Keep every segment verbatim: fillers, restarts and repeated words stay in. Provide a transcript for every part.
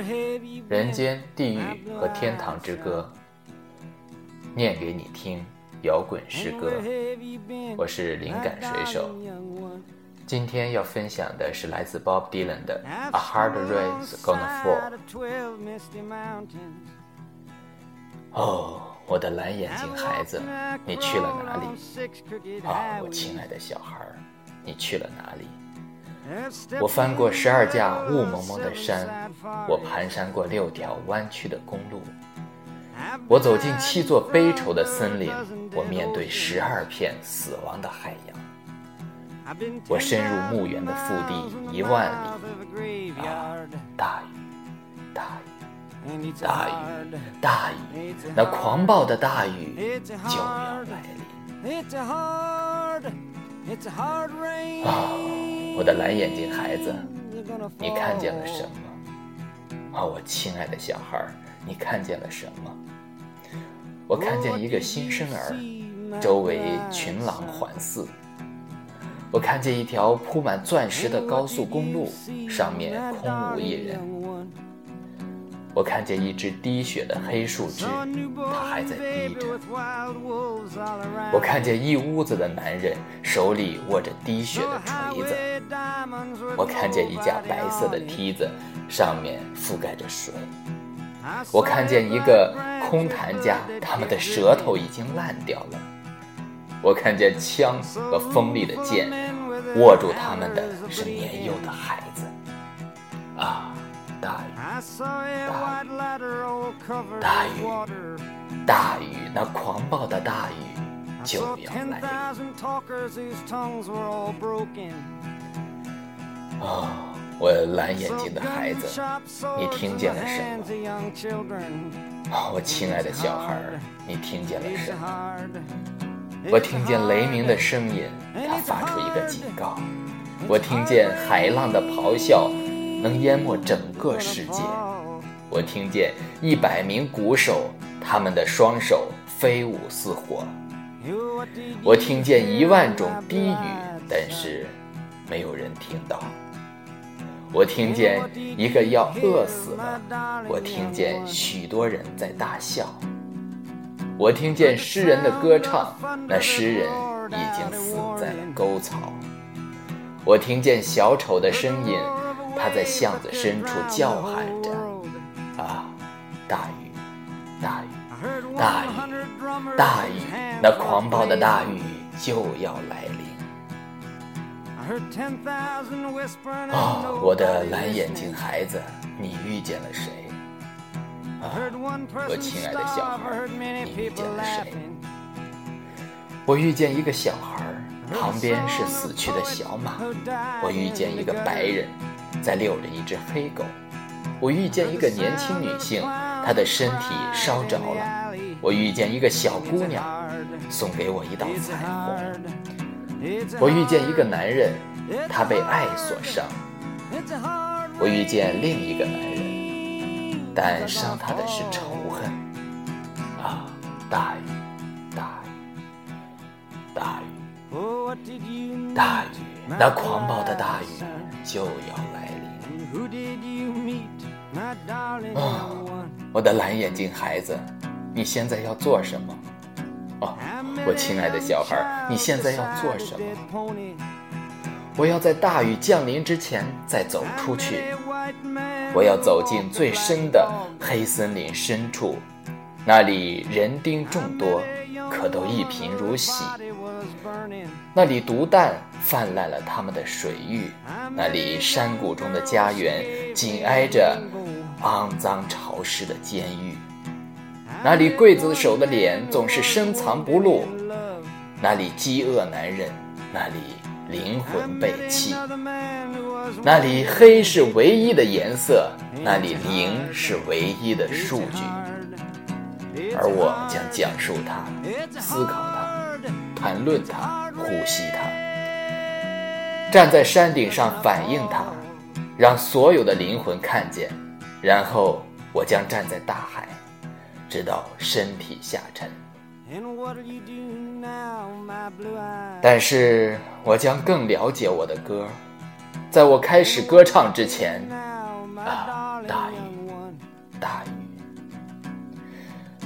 人间、地狱和天堂之歌，念给你听摇滚诗歌。我是灵感水手，今天要分享的是来自 Bob Dylan 的 A Hard Rain's Gonna Fall。 哦，我的蓝眼睛孩子，你去了哪里？啊，我亲爱的小孩，你去了哪里？我翻过十二架雾蒙蒙的山，我蹒跚过六条弯曲的公路，我走进七座悲愁的森林，我面对十二片死亡的海洋，我深入墓园的腹地一万里。啊，大雨，大雨，大雨，大雨，那狂暴的大雨就要来临。啊，我的蓝眼睛孩子，你看见了什么？啊，我亲爱的小孩，你看见了什么？我看见一个新生儿，周围群狼环伺。我看见一条铺满钻石的高速公路，上面空无一人。我看见一只滴血的黑树枝，它还在滴着。我看见一屋子的男人，手里握着滴血的锤子。我看见一架白色的梯子，上面覆盖着水。我看见一个空谈家，他们的舌头已经烂掉了。我看见枪和锋利的剑，握住他们的是年幼的孩子。啊，大雨，大雨，大雨，大雨，那狂暴的大雨就要来临。哦，我蓝眼睛的孩子，你听见了什么？哦，我亲爱的小孩，你听见了什么？我听见雷鸣的声音，它发出一个警告。我听见海浪的咆哮，能淹没整个世界。我听见一百名鼓手，他们的双手飞舞似火。我听见一万种低语，但是没有人听到。我听见一个要饿死了，我听见许多人在大笑。我听见诗人的歌唱，那诗人已经死在了沟槽。我听见小丑的声音，他在巷子深处叫喊着。啊，大雨，大雨，大雨，大雨，那狂暴的大雨就要来临。哦，我的蓝眼睛孩子，你遇见了谁？啊，我亲爱的小孩，你遇见了谁？我遇见一个小孩，旁边是死去的小马。我遇见一个白人在遛着一只黑狗。我遇见一个年轻女性，她的身体烧着了。我遇见一个小姑娘，送给我一道彩虹。我遇见一个男人，他被爱所伤。我遇见另一个男人，但伤他的是仇恨。啊，大雨，大雨，大雨，大雨，那狂暴的大雨就要来临。哦，我的蓝眼睛孩子，你现在要做什么？哦，我亲爱的小孩，你现在要做什么？我要在大雨降临之前再走出去。我要走进最深的黑森林深处，那里人丁众多，可都一贫如洗。那里毒弹泛滥了他们的水域，那里山谷中的家园紧挨着肮脏潮湿的监狱，那里刽子手的脸总是深藏不露，那里饥饿难忍，那里灵魂被弃，那里黑是唯一的颜色，那里零是唯一的数据。而我将讲述它，思考它，谈论它，呼吸它，站在山顶上反映它，让所有的灵魂看见。然后我将站在大海，直到身体下沉。但是我将更了解我的歌，在我开始歌唱之前，啊，大雨，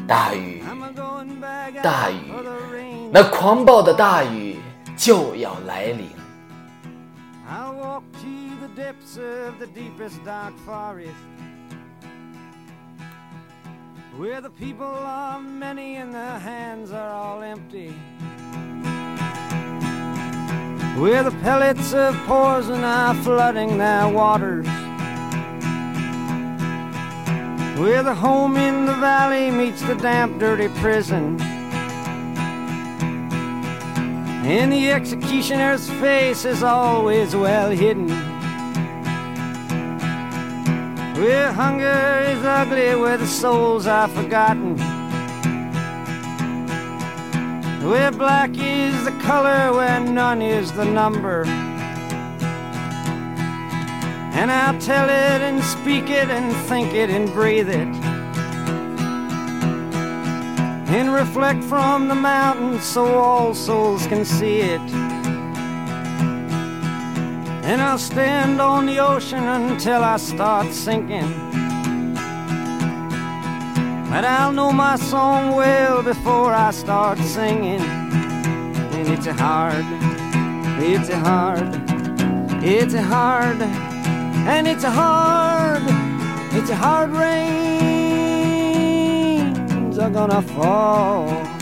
大雨，大雨，那狂暴的大雨就要来临。 I'll walk to the depths of the deepest dark forest, where the people are many and their hands are all empty, where the pellets of poison are flooding their waters, where the home in the valley meets the damp, dirty prison, and the executioner's face is always well hidden, where hunger is ugly, where the souls are forgotten, where black is the color, where none is the number. And I'll tell it and speak it and think it and breathe it, and reflect from the mountains so all souls can see it. And I'll stand on the ocean until I start sinking, but I'll know my song well before I start singing. And it's a hard, it's a hard, it's a hard, and it's a hard, it's a hard rains are gonna fall.